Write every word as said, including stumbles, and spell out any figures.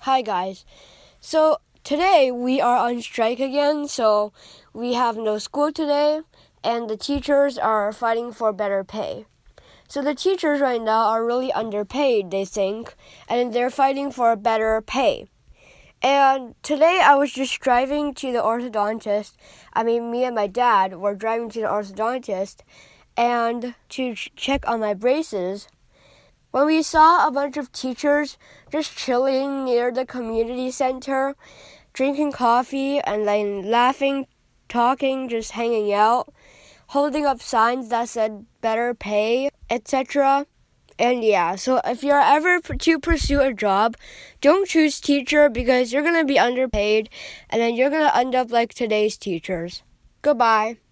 Hi guys. So today we are on strike again, so we have no school today, and the teachers are fighting for better pay. So the teachers right now are really underpaid, they think, and they're fighting for better pay. And today I was just driving to the orthodontist. I mean, me and my dad were driving to the orthodontist and to ch- check on my braces. When we saw a bunch of teachers just chilling near the community center, drinking coffee and then laughing, talking, just hanging out, holding up signs that said better pay, et cetera. And yeah, so if you're ever to pursue a job, don't choose teacher because you're going to be underpaid and then you're going to end up like today's teachers. Goodbye.